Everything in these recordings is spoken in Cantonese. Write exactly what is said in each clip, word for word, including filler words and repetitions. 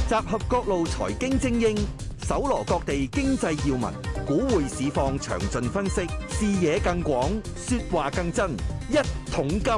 集合各路財經精英，搜羅各地經濟要聞，股匯市況詳盡分析，視野更廣，說話更真。一桶金。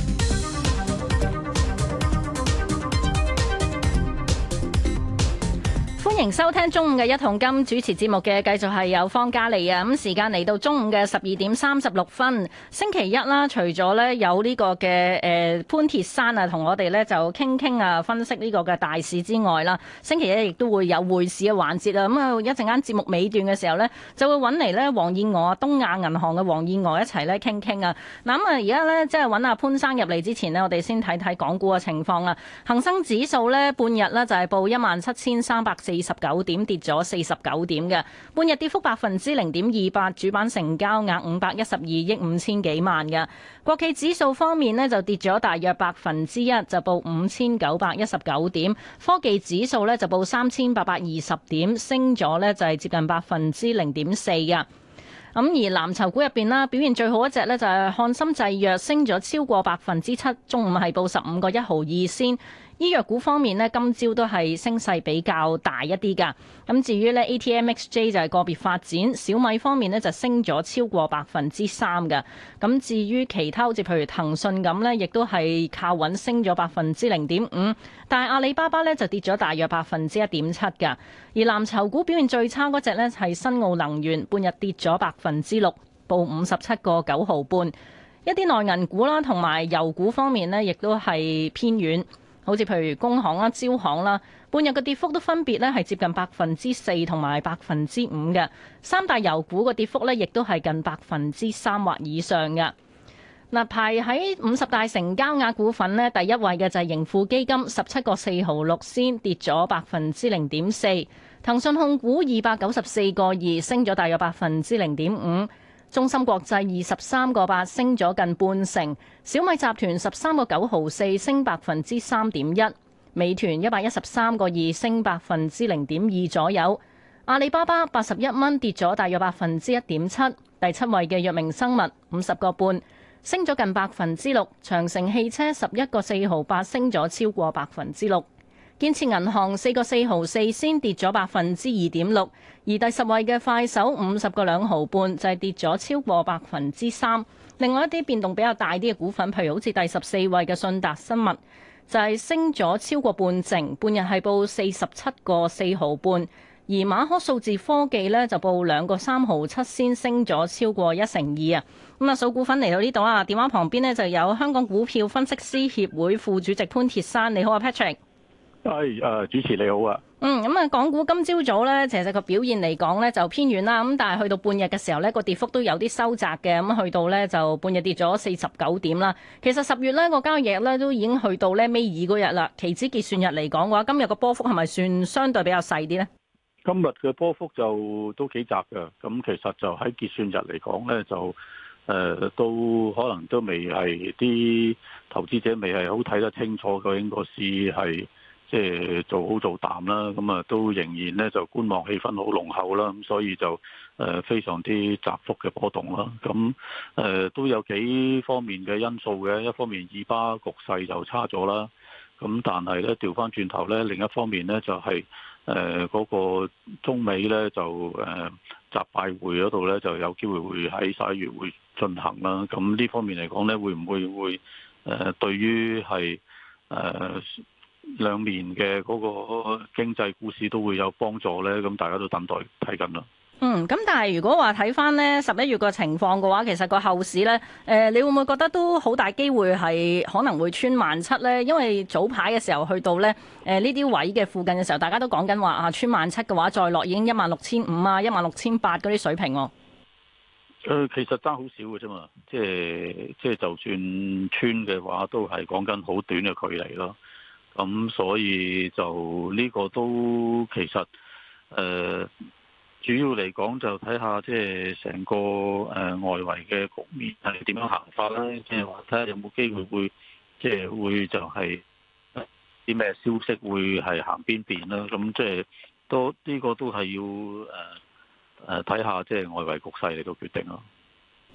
歡迎收聽中午嘅一桶金，主持節目嘅繼續係有方嘉莉啊。咁時間嚟到中午嘅十二點三十六分，星期一啦。除咗呢有呢個嘅誒潘鐵珊啊，同我哋呢就傾傾啊，分析呢個嘅大市之外啦，星期一亦都會有匯市嘅環節啊。咁啊一陣間節目尾段嘅時候呢，就會揾嚟呢黃燕娥啊，東亞銀行嘅黃燕娥一齊呢傾傾啊。嗱咁啊而家呢，即係揾阿潘生入嚟之前呢，我哋先睇睇港股嘅情況啊。恒生指數呢，半日呢就係報一萬七千三百四十九點，跌咗四十九點嘅，半日跌幅百分之零點二八，主板成交額五百一十二億五千幾萬嘅。國企指數方面呢，就跌咗大約百分之一，就報五千九百一十九點。科技指數呢，就報三千八百二十點，升咗呢就係接近百分之零點四嘅。咁而藍籌股入邊啦，表現最好一隻呢，就係漢森製藥，升咗超過百分之七，中午係報十五個一毫二仙。醫藥股方面呢，今朝都係升勢比較大一啲㗎。咁至於呢 A T M X J 就係個別發展，小米方面呢就升咗超過百分之三㗎。咁至於其他好似譬如騰訊咁呢，亦都係靠穩升咗百分之零點五。但係阿里巴巴呢就跌咗大約百分之一點七㗎。而藍籌股表現最差嗰隻呢係新奧能源，半日跌咗百分之六，報五十七個九毫半。一啲內銀股啦，同埋油股方面呢，亦都係偏軟。好似譬如工行啦、招行啦，半日嘅跌幅都分別咧係接近百分之四同埋百分之五嘅。三大油股嘅跌幅咧，亦都係近百分之三或以上嘅。嗱，排喺五十大成交額股份呢，第一位嘅就係盈富基金，十七個四毫六仙，跌咗百分之零點四。騰訊控股二百九十四個二，升咗大約百分之零點五。中芯國際二十三個八，升咗近半成。小米集團十三個九毫四，升百分之三點一。美團一百一十三個二，升百分之零點二左右。阿里巴巴八十一蚊，跌咗大約百分之一點七。第七位嘅藥明生物五十個半，升咗近百分之六。長城汽車十一個四毫八，升咗超過百分之六。建設銀行四個四毫四先跌咗百分之二點六，而第十位嘅快手五十個兩毫半就係跌咗超過百分之三。另外一啲變動比較大啲嘅股份，譬如好似第十四位嘅信達生物就係升咗超過半成，半日係報四十七個四毫半。而馬可數字科技呢，就報兩個三毫七先，升咗超過一成二啊。咁啊，數股份嚟到呢度啊，電話旁邊呢就有香港股票分析師協會副主席潘鐵珊，你好啊 Patrick。 係誒，主持你好啊。 嗯，咁啊，港股今朝早咧，其實個表現嚟講咧就偏軟啦。咁但係去到半日嘅時候咧，個跌幅都有啲收窄嘅。咁去到咧就半日跌咗四十九點啦。其實十月咧個交易日咧都已經去到咧尾二嗰日啦。期指結算日嚟講嘅話，今日個波幅係咪算相對比較細啲咧？ 今日嘅波幅就都幾窄嘅。咁其實就喺結算日嚟講咧，就誒、呃、都可能都未係啲投資者未係好睇得清楚究竟個市係。即係做好做淡啦，咁啊都仍然咧就觀望氣氛好濃厚啦，咁所以就誒非常之窄幅嘅波動啦。咁誒都有幾方面嘅因素嘅，一方面以巴局勢就差咗啦，咁但係咧調翻轉頭咧，另一方面咧就係誒嗰個中美咧就誒習拜會嗰度咧就有機會會喺十一月會進行啦。咁呢方面嚟講咧，會唔會會誒對於係誒兩年嘅嗰個經濟股市都會有幫助呢，咁大家都等待睇緊啦。 嗯，咁但係如果話睇翻呢十一月個情況嘅話，其實個後市呢，誒、呃，你會唔會覺得都好大機會係可能會穿萬七呢？因為早排嘅時候去到呢誒呢啲位嘅附近嘅時候，大家都講緊話啊，穿萬七嘅話再落已經一萬六千五啊，一萬六千八嗰啲水平喎。 誒，其實爭好少嘅啫嘛，即係即係就算穿嘅話，都係講緊好短嘅距離咯。咁所以就呢個都其實誒、呃、主要嚟講就睇下即係成個誒、呃、外圍嘅局面係點樣行法啦，即係話睇下有冇機會會即係會就係啲咩消息會係行邊邊啦。咁即係都呢個都係要誒誒睇下即係外圍局勢嚟到決定咯。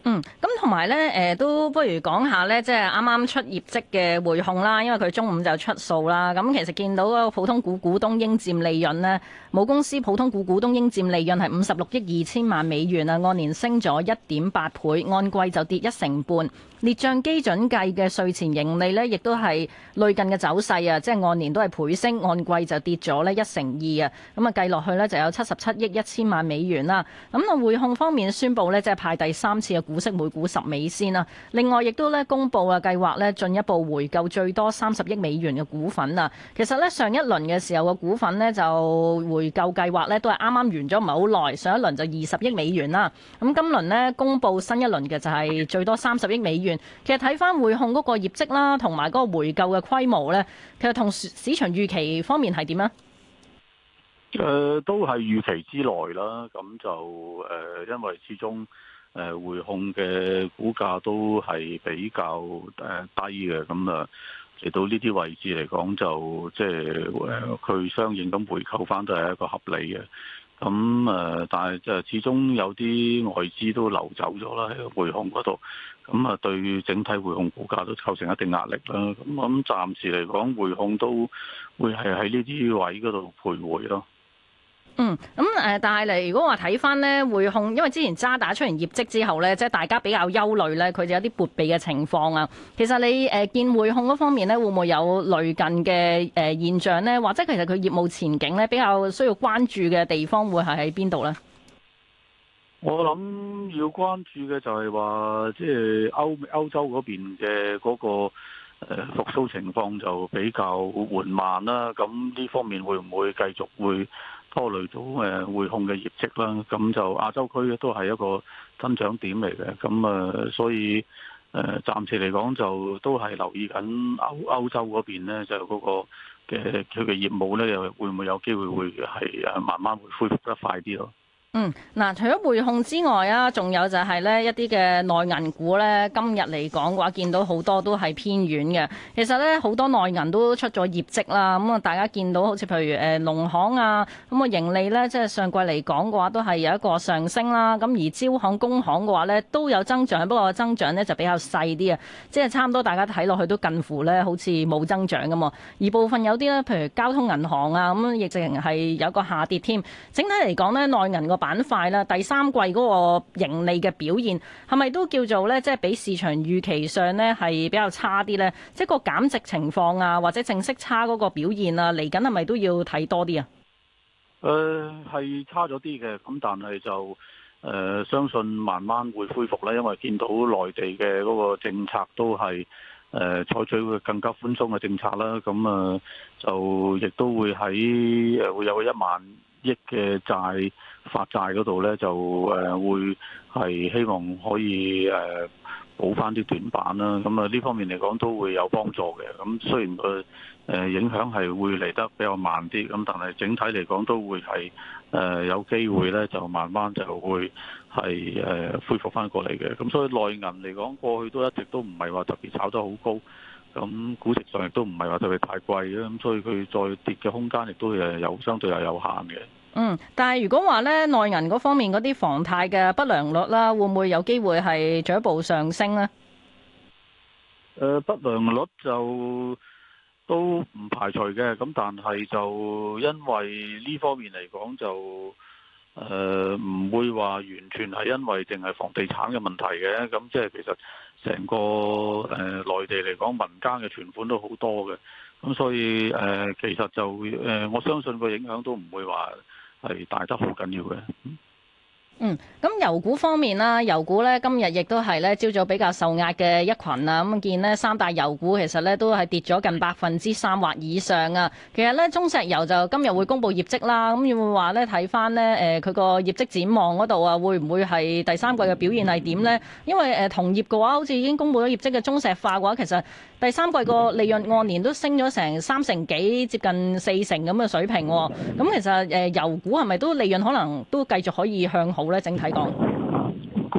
嗯，咁同埋咧，誒都不如講下咧，即係啱啱出業績嘅匯控啦，因為佢中午就出數啦。咁其實見到嗰個普通股股東應佔利潤呢，母公司普通股股東應佔利潤係五十六億二千萬美元啊，按年升咗一點八倍，按季就跌一成半。列帳基準計嘅稅前盈利呢，亦都係類近嘅走勢啊，即係按年都係倍升，按季就跌咗呢一成二啊。咁啊計落去呢，就有七十七億一千萬美元啦。咁啊匯控方面宣布呢，即係派第三次嘅股息每股十美仙啦。另外亦都咧公布啊計劃咧進一步回購最多三十億美元嘅股份啊。其實咧上一輪嘅時候嘅股份呢，就回購計劃咧都係啱啱完咗唔係好耐，上一輪就二十億美元啦。咁今輪呢，公布新一輪嘅就係最多三十億美元。其實睇翻匯控嗰個業績啦，同埋嗰個回購嘅規模咧，其實同市場預期方面係點啊？ 誒、呃，都係預期之內啦。咁就誒、呃，因為始終誒匯控嘅股價都係比較誒低嘅，咁啊嚟到呢啲位置嚟講，就即係誒佢相應咁回購翻都係一個合理嘅。咁誒，但係就始終有啲外資都流走咗啦，喺匯控嗰度，咁啊對整體匯控股價都構成一定壓力啦。咁我諗暫時嚟講，匯控都會係喺呢啲位嗰度徘徊咯。 嗯，咁誒，但係嚟如果話睇翻呢匯控，因為之前渣打出完業績之後呢，即係大家比較憂慮呢，佢就有啲撥備嘅情況啊。其實你誒見匯控嗰方面呢，會唔會有類近嘅誒現象呢？或者其實佢業務前景呢，比較需要關注嘅地方會係喺邊度呢？ 我諗要關注嘅就係話，即係歐歐洲嗰邊嘅嗰個誒復甦情況就比較緩慢啦。咁呢方面會唔會繼續會拖累到誒匯控嘅業績啦？咁就亞洲區都係一個增長點嚟嘅。咁啊，所以誒暫時嚟講就都係留意緊歐歐洲嗰邊咧，就嗰個嘅佢嘅業務咧，又會唔會有機會會係誒慢慢會恢復得快啲咯？ 嗯，嗱，除咗匯控之外啊，仲有就係呢一啲嘅內銀股呢。今日嚟講嘅話，見到好多都係偏軟嘅。其實呢，好多內銀都出咗業績啦。咁啊，大家見到好似譬如誒農行啊，咁啊盈利呢，即係上季嚟講嘅話，都係有一個上升啦。咁而招行、工行嘅話呢，都有增長，不過增長呢就比較細啲啊，即係差唔多大家睇落去都近乎呢好似冇增長咁啊。而部分有啲呢，譬如交通銀行啊，咁亦直情係有個下跌添。整體嚟講呢，內銀個板塊啦，第三季嗰個盈利嘅表現係咪都叫做咧，即係比市場預期上呢係比較差啲呢？即係個減值情況啊，或者淨息差嗰個表現啊，嚟緊係咪都要睇多啲啊？ 誒、呃，係差咗啲嘅，咁但係就誒、呃、相信慢慢會恢復啦，因為見到內地嘅嗰個政策都係誒採取會更加寬鬆嘅政策啦，咁啊、呃、就亦都會喺誒會有一萬億嘅債發債嗰度咧，就誒會係希望可以誒補翻啲短板啦。咁啊呢方面嚟講都會有幫助嘅。咁雖然佢誒影響係會嚟得比較慢啲，咁但係整體嚟講都會係誒有機會咧，就慢慢就會係誒恢復翻過嚟嘅。咁所以內銀嚟講，過去都一直都唔係話特別炒得好高。咁估值上亦都唔係話特別太貴嘅，咁所以佢再跌嘅空間亦都誒有相對係有限嘅。 嗯，但係如果話咧內銀嗰方面嗰啲房貸嘅不良率啦，會唔會有機會係進一步上升呢？ 誒、呃，不良率就都唔排除嘅，咁但係就因為呢方面嚟講就誒唔會話完全係因為淨係房地產嘅問題嘅，咁即係其實成個誒內地嚟講民間嘅存款都好多嘅，咁所以誒、呃、其實就誒、呃、我相信個影響都唔會話係大得好緊要嘅。 嗯，咁油股方面啦，油股咧今日亦都係咧朝早比較受壓嘅一群啊，咁見呢三大油股其實咧都係跌咗近百分之三或以上啊。其實咧中石油就今日會公布業績啦，咁會唔會話咧睇翻呢誒佢個業績展望嗰度啊，會唔會係第三季嘅表現係點呢？因為誒同業嘅話，好似已經公布咗業績嘅中石化嘅話，其實第三季個利潤按年都升咗成三成幾，接近四成咁嘅水平。咁其實誒油股係咪都利潤可能都繼續可以向好？整體講， 估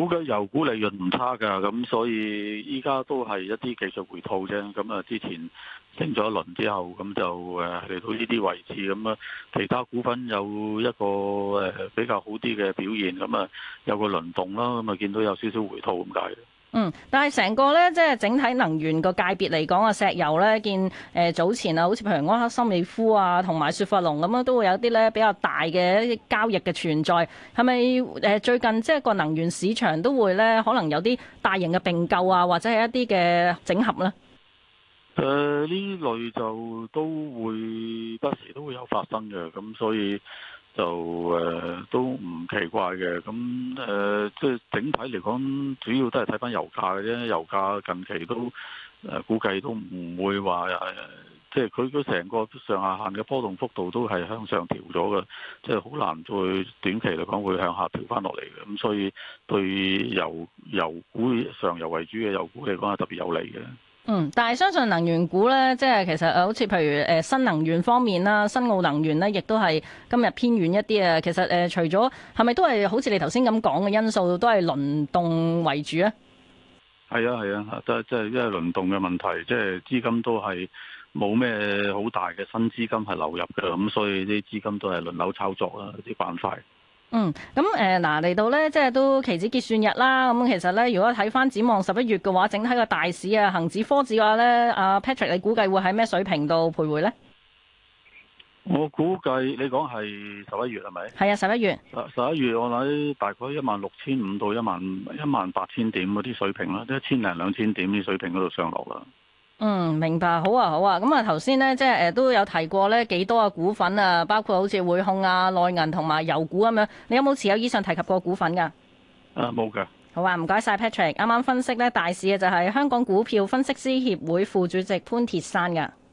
估計油股利潤唔差㗎，咁所以依家都係一啲技術回吐啫。咁啊，之前升咗一輪之後，咁就誒嚟到呢啲位置，咁啊，其他股份有一個誒比較好啲嘅表現，咁啊有個輪動啦，咁啊見到有少少回吐咁解。 嗯，但係成個咧，即係整體能源個界別嚟講啊，石油咧見誒、呃、早前啊，好似譬如埃克森美孚啊，同埋雪佛龍咁樣，都會有啲咧比較大嘅一啲交易嘅存在。係咪誒最近即係個能源市場都會咧，可能有啲大型嘅併購啊，或者係一啲嘅整合咧？ 誒呢、呃、類就都會不時都會有發生嘅，咁所以。就誒、呃、都唔奇怪嘅，咁誒即係整體嚟講，主要都係睇翻油價嘅啫。油價近期都誒、呃、估計都唔會話誒，即係佢佢成個上下限嘅波動幅度都係向上調咗嘅，即係好難再短期嚟講會向下調翻落嚟嘅。咁所以對油油股上游為主嘅油股嚟講係特別有利嘅。 嗯，但係相信能源股咧，即係其實誒，好似譬如誒新能源方面啦，新奧能源咧，亦都係今日偏遠一啲啊。其實誒、呃，除咗係咪都係好似你頭先咁講嘅因素，都係輪動為主咧？係啊係啊，即係即係因為輪動嘅問題，即係資金都係冇咩好大嘅新資金係流入嘅，咁所以啲資金都係輪流炒作啦，啲板塊。 嗯，咁誒嗱嚟到咧，即係都期指結算日啦。咁、嗯、其實咧，如果睇翻展望十一月嘅話，整體個大市啊，恒指、科指嘅話咧，阿 Patrick，你估計會喺咩水平度徘徊咧？ 我估計你講係十一月係咪？ 係啊，十一月。 十一月我諗大概一萬六千五到一萬一萬八千點嗰啲水平啦，一千零兩千點啲水平嗰度上落啦。嗯， 明白，好啊，好啊。咁啊，頭先咧，即係誒都有提過咧幾多嘅股份啊，包括好似匯控啊、內銀同埋油股咁樣。你有冇持有以上提及過股份噶？ 啊，冇噶。 好啊，唔該晒 Patrick。啱啱分析咧大市嘅就係香港股票分析師協會副主席潘鐵珊噶。